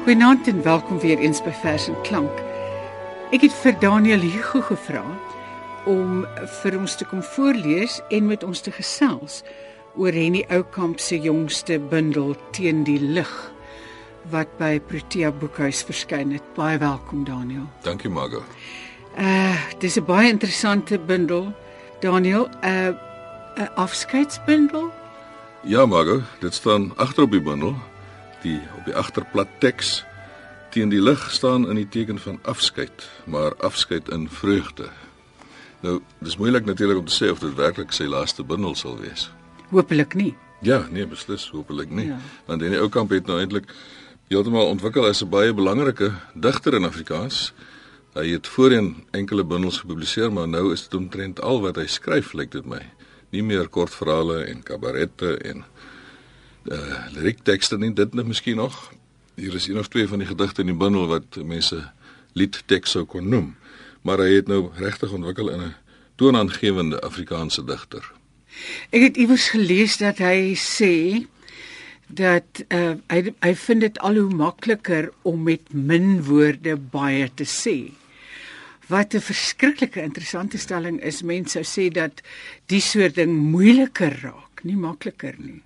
Goeienaand en welkom weer eens by Vers en Klank. Ek het vir Daniel Hugo gevra om vir ons te kom voorlees en met ons te gesels oor Henny Oukamp se jongste bundel Teen die lig wat by Protea Boekhuis verskyn het. Baie welkom Daniel. Dankie Margo. Dis 'n baie interessante bundel. Daniel, 'n afskeidsbundel? Ja Margo, dit staan agter op die bundel. Op die agterplat teks teen die lig staan in die teken van afskeid, maar afskeid in vreugde. Nou, dis moeilik natuurlik om te sê of dit werklik sy laaste bundel sal wees. Hopelik nie. Ja, nee, beslis, hopelik nie. Ja. Want Henny Oukamp het nou eintlik heeltemal ontwikkel as 'n baie belangrike digter in Afrikaans. Hy het voorheen enkele bundels gepubliseer, maar nou is dit omtrent al wat hy skryf, lyk dit my. Nie meer kortverhale en kabarette en liriektekste nie, dit miskien nog. Hier is een of twee van die gedigte in die bundel wat mense liedteks sou kon noem. Maar hy het nou regtig ontwikkel in 'n toonaangewende Afrikaanse digter. Ek het iewers gelees dat hy sê dat hy vind dit al hoe makliker om met min woorde baie te sê. Wat 'n verskriklike interessante stelling is. Mense sou sê dat die soort ding moeiliker raak, nie makliker nie.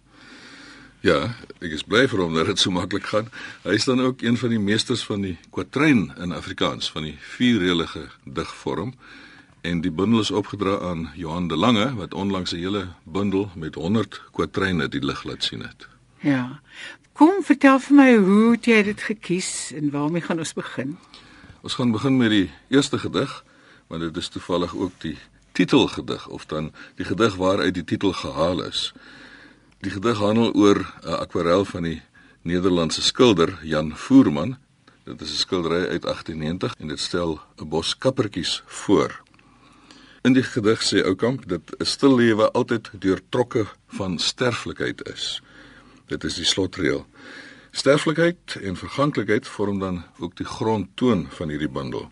Ja, ek is bly vir hom dat dit so maklik gaan. Hy is dan ook een van die meesters van die kwatryn in Afrikaans, van die vierreëlige digvorm. En die bundel is opgedra aan Johan de Lange, wat onlangs 'n hele bundel met 100 kwatryne die lig laat sien het. Ja. Kom, vertel vir my, hoe het jy dit gekies en waarmee gaan ons begin? Ons gaan begin met die eerste gedig, want dit is toevallig ook die titelgedig, of dan die gedig waaruit die titel gehaal is. Die gedig handel oor 'n akwarel van die Nederlandse skilder Jan Voerman. Dit is 'n skildery uit 1890 en dit stel 'n bos kappertjies voor. In die gedig sê Oukamp dat 'n stil lewe altyd deurtrokke van sterflikheid is. Dit is die slotreël. Sterflikheid en verganklikheid vorm dan ook die grondtoon van hierdie bundel.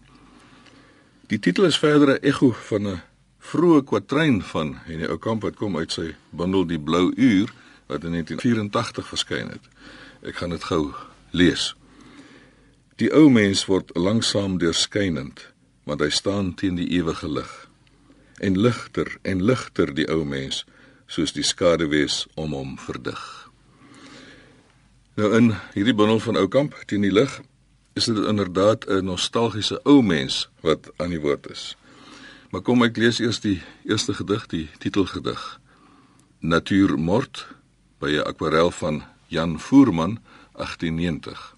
Die titel is verder 'n ekho van 'n vroeë kwatryn van Henny Oukamp wat kom uit sy bundel Die Blou Uur wat in 1984 verskyn het. Ek gaan dit gou lees. Die ou mens word langsaam deurskynend, want hy staan teen die ewige lig. En ligter die ou mens, soos die skaduwees om hom verdig. Nou in hierdie bundel van Oukamp teen die lig is dit inderdaad 'n nostalgiese ou mens wat aan die woord is. Maar kom ek lees eers die eerste gedig, die titelgedig. Natuurmord, by 'n akwarel van Jan Voerman, 1890.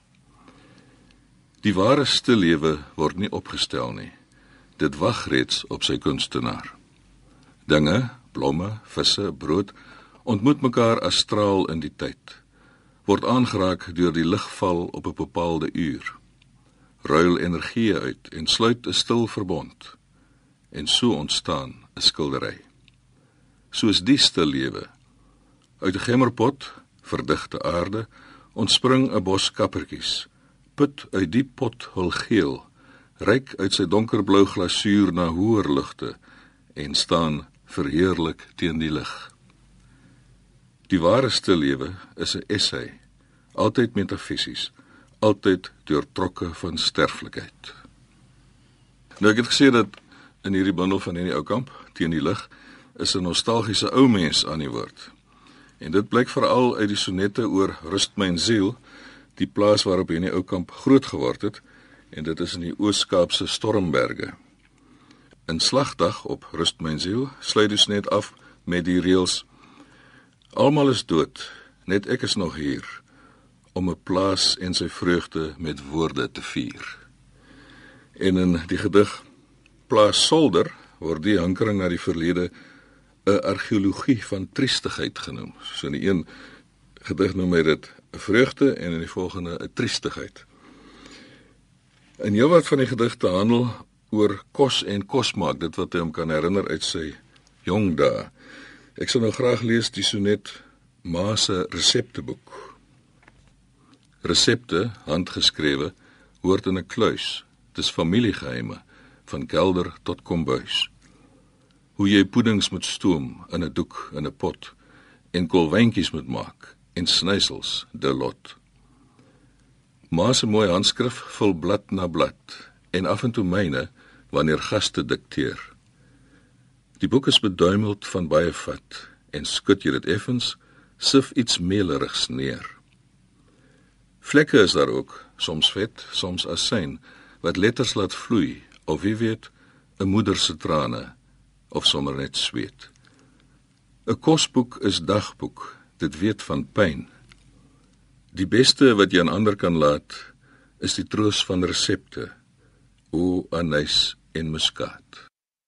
Die ware stillewe word nie opgestel nie. Dit wag reeds op sy kunstenaar. Dinge, blomme, visse, brood, ontmoet mekaar astraal in die tyd. Word aangeraak deur die ligval op 'n bepaalde uur. Ruil energie uit en sluit 'n stil verbond. En so ontstaan 'n skildery. Soos die stil lewe. Uit 'n gemmerpot, verdigte aarde, ontspring 'n bos kappertjies. Put uit die pot hul geel, ryk uit sy donkerblou glasuur na hoër lugte en staan verheerlik teen die lig. Die ware stil lewe is 'n essay, altyd metafisies, altyd deurtrokke van sterflikheid. Nou ek het gesê dat in hierdie bundel van Henny Oukamp, Teen die lig, is 'n nostalgiese ou mens aan die woord. En dit blyk veral uit die sonette oor Rust myn siel, die plaas waarop Henny Oukamp groot geword het, en dit is in die Oos-Kaapse Stormberge. In Slagdag op Rust myn siel sluit die sonnet af met die reëls: Almal is dood, net ek is nog hier, om 'n plaas en sy vreugde met woorde te vier. En in die gedig Plaas Solder word die hankering na die verlede 'n argeologie van triestigheid genoem. So in die een gedig noem hy dit 'n vreugde en in die volgende 'n triestigheid. En heelwat van die gedigte handel oor kos en kosmaak, dit wat hy hom kan herinner uit sy jong dae. Ek sal nou graag lees die sonnet Ma se resepteboek. Resepte, handgeskrewe, hoort in 'n kluis. Dis familiegeheime, van kelder tot kombuis. Hoe jy puddings moet stoom in 'n doek in 'n pot, en kolwyntjies moet maak, en snysels de lot. Ma se mooi handskrif vul blad na blad en af en toe myne wanneer gaste dikteer. Die boek is beduimeld van baie vat en skud jy dit effens, sif iets meelerigs neer. Vlekke is daar ook, soms vet, soms asyn, wat letters laat vloei, of wie weet, 'n moeder se trane, of sommer net sweet. 'n Kosboek is dagboek, dit weet van pyn. Die beste wat jy aan ander kan laat, is die troos van resepte, o anys en muskaat.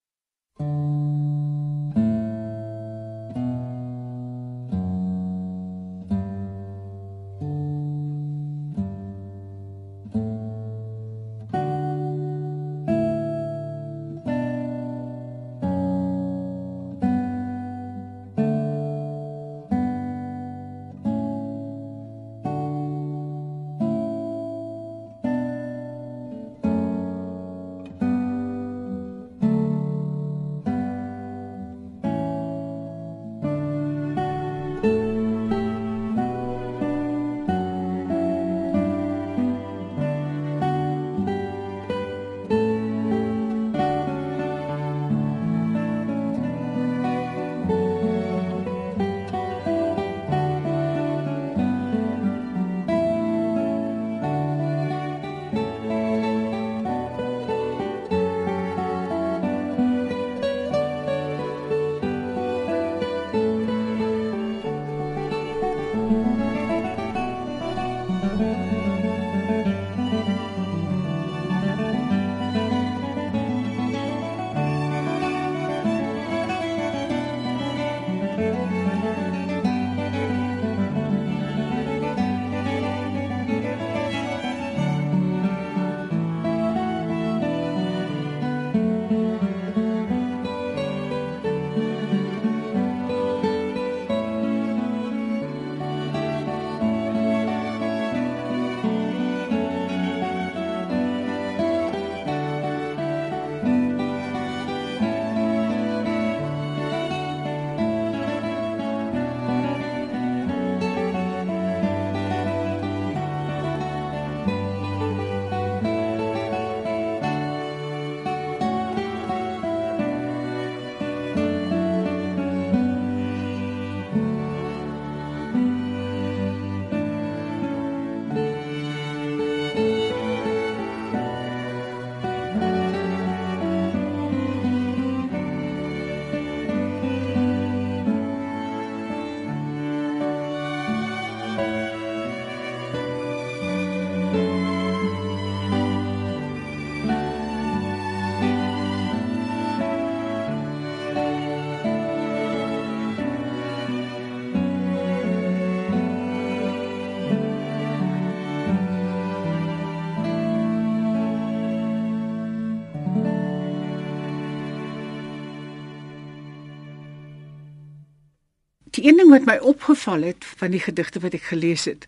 Die een ding wat my opgeval het van die gedigte wat ek gelees het,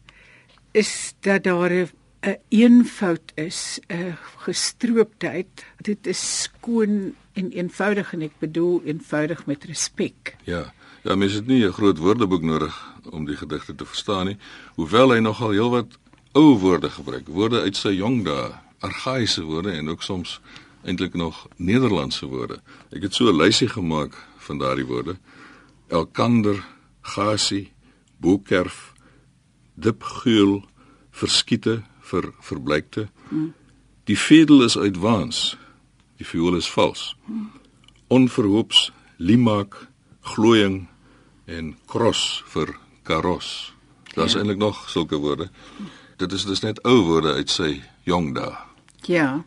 is dat daar 'n eenvoud is, 'n gestrooptheid. Dit is skoon en eenvoudig, en ek bedoel eenvoudig met respek. Ja, mens het nie 'n groot woordeboek nodig om die gedigte te verstaan nie, hoewel hy nogal heelwat ou woorde gebruik, woorde uit sy jong dae, argaïese woorde en ook soms eintlik nog Nederlandse woorde. Ek het so 'n lysie gemaak van daardie woorde. Elkander, gasie, boekerf, dipgeul, verskiete, verbleikte. Die vedel is uit waans, die viool is vals. Onverhoops, limaak, glooiing en kros vir karos. Daar is eintlik nog sulke woorde. Dit is dus net ou woorde uit sy jong dae. Ja.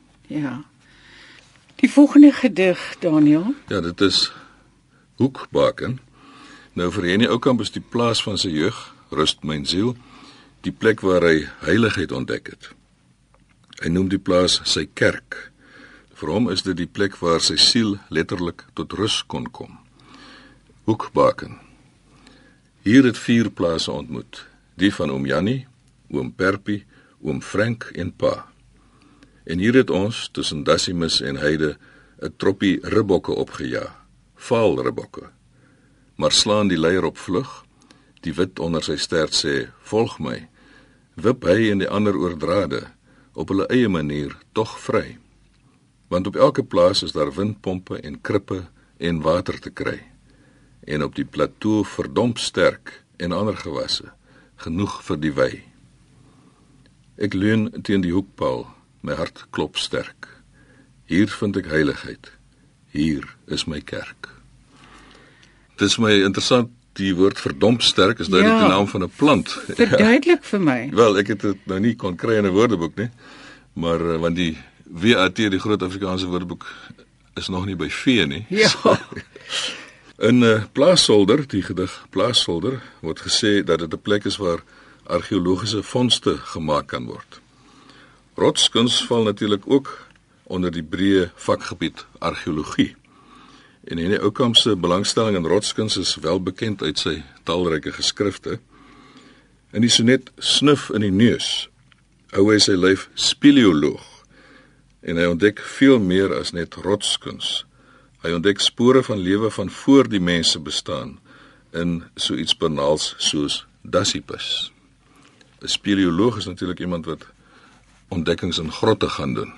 Die volgende gedig, Daniel. Ja, dit is Hoekbaken. Nou vir Henny Oukamp is die plaas van sy jeug, rust myn siel, die plek waar hy heiligheid ontdek het. Hy noem die plaas sy kerk. Vir hom is dit die plek waar sy siel letterlik tot rus kon kom. Hoekbaken. Hier het 4 plase ontmoet, die van oom Jannie, oom Perpie, oom Frank en pa. En hier het ons, tussen Dassimus en Heide, 'n troppie ribbokke opgejaag, vaal ribbokke. Maar slaan die leier op vlug, die wit onder sy stert sê, volg my, wip hy en die ander oor drade, op hulle eie manier, tog vry. Want op elke plaas is daar windpompe en krippe en water te kry. En op die plateau verdomp sterk en ander gewasse, genoeg vir die wei. Ek leun teen die hoekpaal, my hart klop sterk. Hier vind ek heiligheid, hier is my kerk. Het is my interessant, die woord verdomp sterk is duidelik die naam van 'n plant. Verduidelik vir my. Wel, ek het dit nou nie kon kry in 'n woordeboek nie, maar want die WAT, die Groot Afrikaanse Woordeboek, is nog nie by V nie. Ja. In Plaaszolder, die gedig Plaaszolder, word gesê dat dit 'n plek is waar argeologiese vondste gemaak kan word. Rotskuns val natuurlik ook onder die breë vakgebied argeologie. En Henny Oukamp se belangstelling in rotskuns is wel bekend uit sy talryke geskrifte. In die sonnet Snuf in die neus hou hy sy lyf speleoloog en hy ontdek veel meer as net rotskuns. Hy ontdek spore van lewe van voor die mense bestaan in so iets banaals soos Dasypus. 'n Speleoloog is natuurlik iemand wat ontdekkings in grotte gaan doen.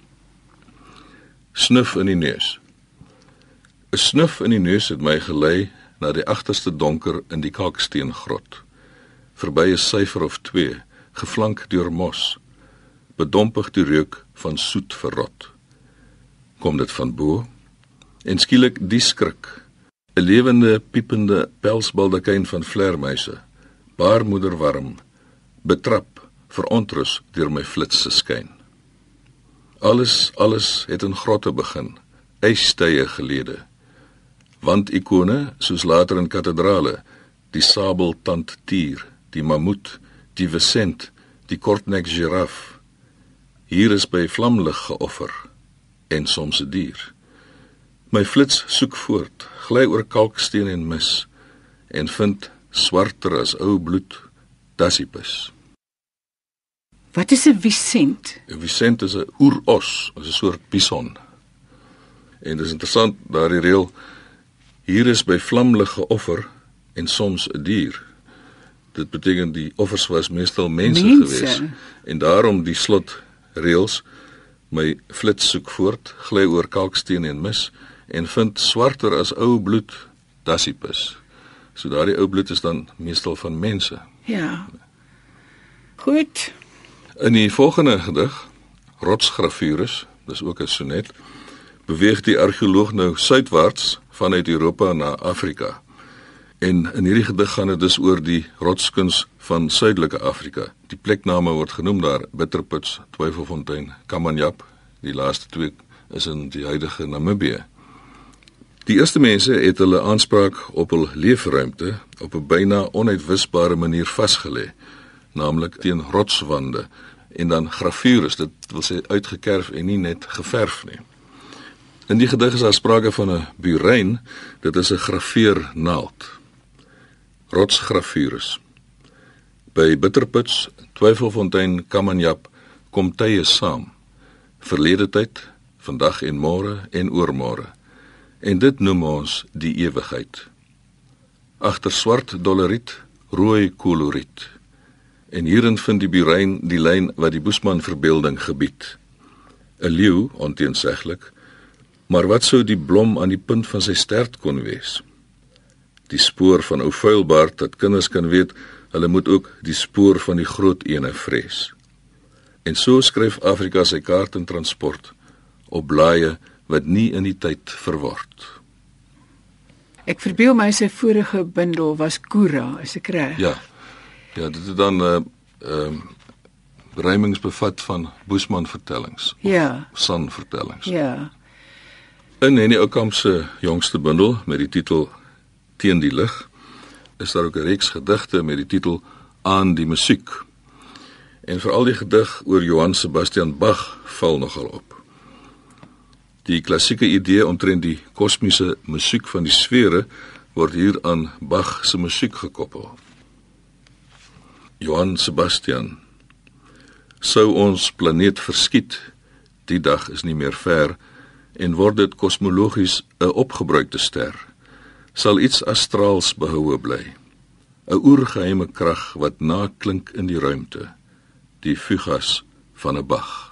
Snuf in die neus. 'n Snuf in die neus het my gelei na die agterste donker in die kalksteengrot, verby 'n syfer of 2, geflank deur mos, bedompig die reuk van soet verrot. Kom dit van bo, en skielik die skrik, 'n lewende, piepende pelsbaldakyn van vlermuise, baarmoederwarm, betrap, verontrus deur my flitse skyn. Alles het in grotte begin, ystye gelede. Wandikone, soos later in kathedrale, die sabeltand tier, die mammoet, die vesent, die kortnek giraf. Hier is by vlamlig geoffer, en soms 'n dier. My flits soek voort, gly oor kalksteen en mis, en vind, swarter as ou bloed, Dasypus. Wat is 'n Vicent? 'n Vicent is 'n oeros, is 'n soort bison. En dit is interessant, daardie reël, hier is by vlamlig geoffer, en soms 'n dier. Dit beteken die offers was meestal mense gewees. En daarom die slotreëls, my flits soek voort, gly oor kalksteen en mis, en vind swarter as ou bloed, Dasypus. So daardie ou bloed is dan meestal van mense. Ja. Goed. In die volgende gedig, Rotsgravures, dis ook 'n sonnet, beweeg die argeoloog nou suidwaarts vanuit Europa na Afrika. En in hierdie gedig gaan dit dus oor die rotskuns van suidelike Afrika. Die plekname word genoem daar, Bitterputs, Twyfelfontein, Kamanyap, die laaste 2 is in die huidige Namibië. Die eerste mense het hulle aanspraak op hul leefruimte op 'n byna onuitwisbare manier vasgelê, naamlik teen rotswande en dan gravures, dit wil sê uitgekerf en nie net geverf nie. In die gedig is daar sprake van 'n burein, dit is 'n graveernaald. Rotsgravures. By Bitterputs, Twyfelfontein, Kamanyap kom tye saam. Verlede tyd, vandag en môre en oormôre. En dit noem ons die ewigheid. Agter swart doleriet, rooi koloriet. En hierin vind die burein die lyn wat die Boesman verbeelding gebied. 'n Leeu, onteenseglik, maar wat sou die blom aan die punt van sy stert kon wees? Die spoor van ou vuilbaard, dat kinders kan weet, hulle moet ook die spoor van die groot ene vrees. En so skryf Afrika sy kaart en transport, op blaaie wat nie in die tyd verword. Ek verbeel my sy vorige bundel was Kura, is ek reg? Ja, dit het dan rymings bevat van Boesman vertellings, Ja. San vertellings. Ja. In Henny Oukamp se jongste bundel met die titel Teen die lig, is daar ook 'n reeks gedigte met die titel Aan die musiek. En veral die gedig oor Johann Sebastian Bach val nogal op. Die klassieke idee omtrent die kosmiese musiek van die sfere word hier aan Bach se musiek gekoppel. Johann Sebastian: Sou ons planeet verskiet, die dag is nie meer ver, en word dit kosmologies 'n opgebruikte ster, sal iets astraals behoue bly, 'n oergeheime krag wat naklink in die ruimte, die fugas van 'n Bach.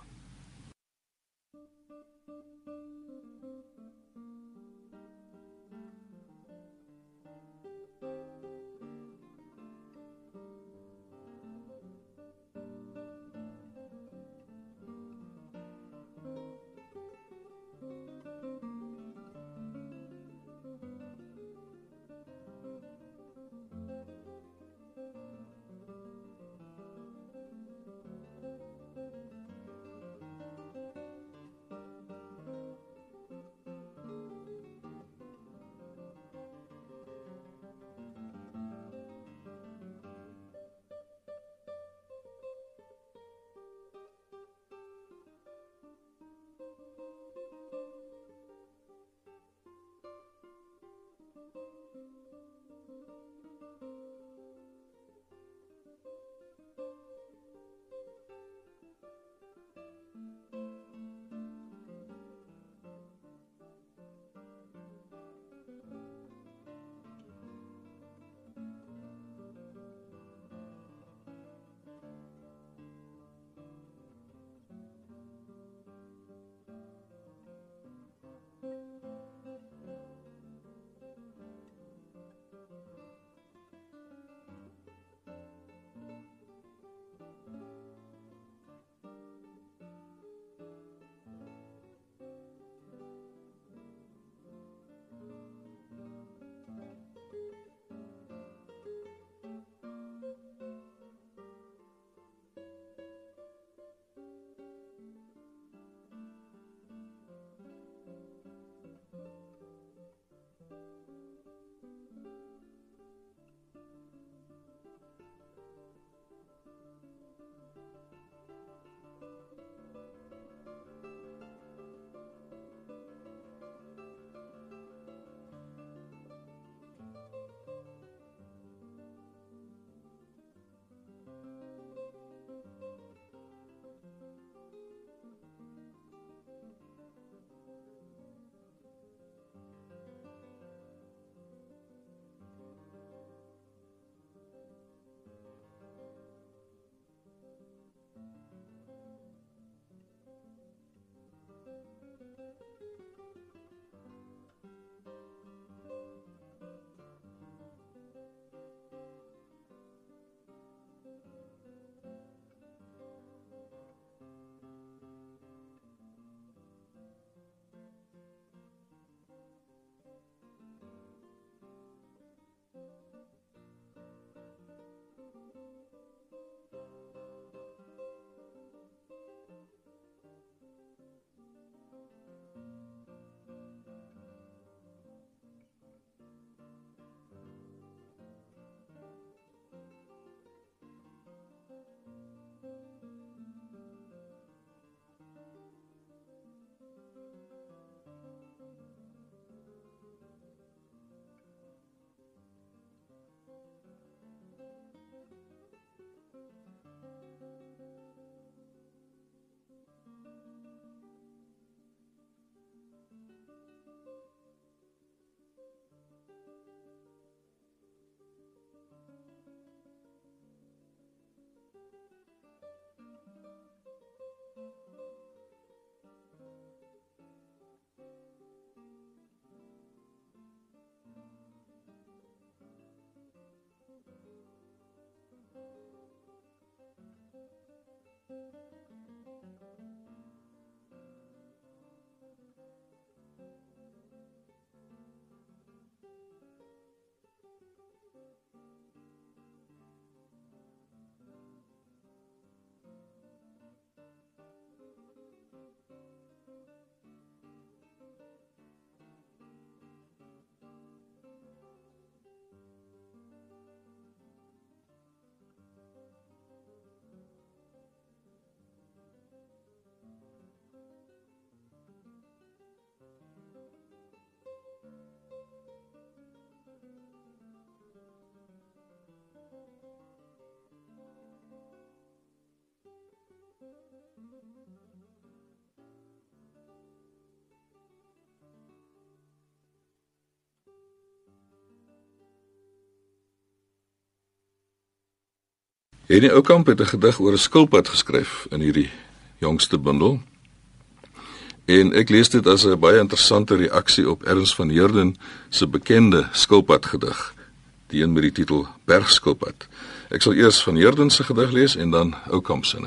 Henny Oukamp het 'n gedig oor 'n skilpad geskryf in hierdie jongste bundel. En ek lees dit as 'n baie interessante reaksie op Ernst van Heerden se bekende skilpadgedig, die een met die titel Bergskilpad. Ek sal eers van Heerden se gedig lees en dan Oukamp se.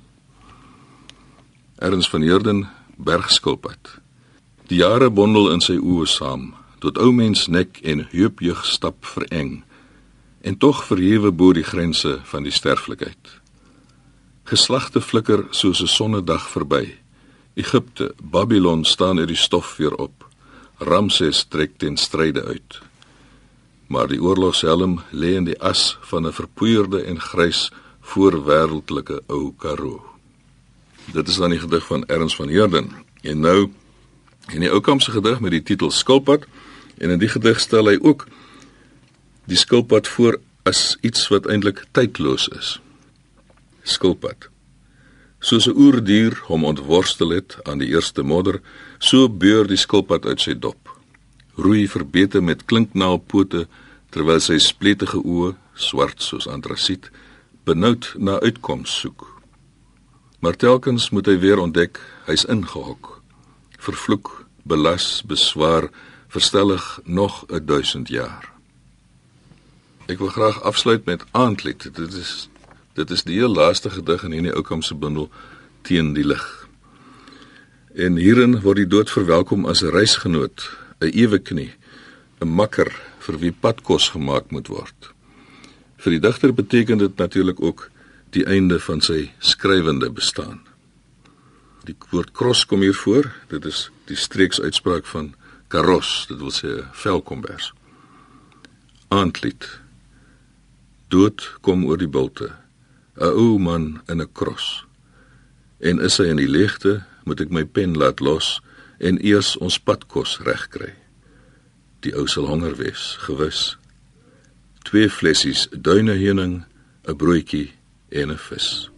Ernst van Heerden, Bergskilpad. Die jare bondel in sy oë saam, tot ou mens nek en heupjeug stap vereng, en tog verhewe bo die grense van die sterflikheid. Geslagte flikker soos 'n sonnedag verby. Egipte, Babylon staan uit die stof weer op. Ramses trek ten stryde uit. Maar die oorlogshelm lê in die as van 'n verpoeierde en grys voorwêreldelike ou Karoo. Dit is dan die gedig van Ernst van Heerden. En nou, in die Oukamp se gedig met die titel Skilpad, en in die gedig stel hy ook die skilpad voor as iets wat eintlik tydloos is. Skilpad. Soos 'n oerdier hom ontworstel het aan die eerste modder, so beur die skilpad uit sy dop. Roei verbete met klinknaalpote, terwyl sy spletige oë, swart soos antrasiet, benoud na uitkoms soek. Maar telkens moet hy weer ontdek, hy's ingehok. Vervloek, belas, beswaar, verstellig nog 1000 jaar. Ek wil graag afsluit met Aandlied. Dit is die heel laaste gedig in Henny Oukamp se bundel Teen die lig. En hierin word die dood verwelkom as 'n reisgenoot, 'n eweknie, 'n makker vir wie padkos gemaak moet word. Vir die digter beteken dit natuurlik ook die einde van sy skrywende bestaan. Die woord kros kom hier voor, dit is die streeksuitspraak van karos, dit wil sê 'n velkombers. Aandlied. Dood kom oor die bulte, 'n ou man in 'n kros. En is hy in die leegte, moet ek my pen laat los en eers ons padkos regkry. Die ou sal honger wees, gewis. 2 flessies duineheuning, 'n broodjie en 'n vis.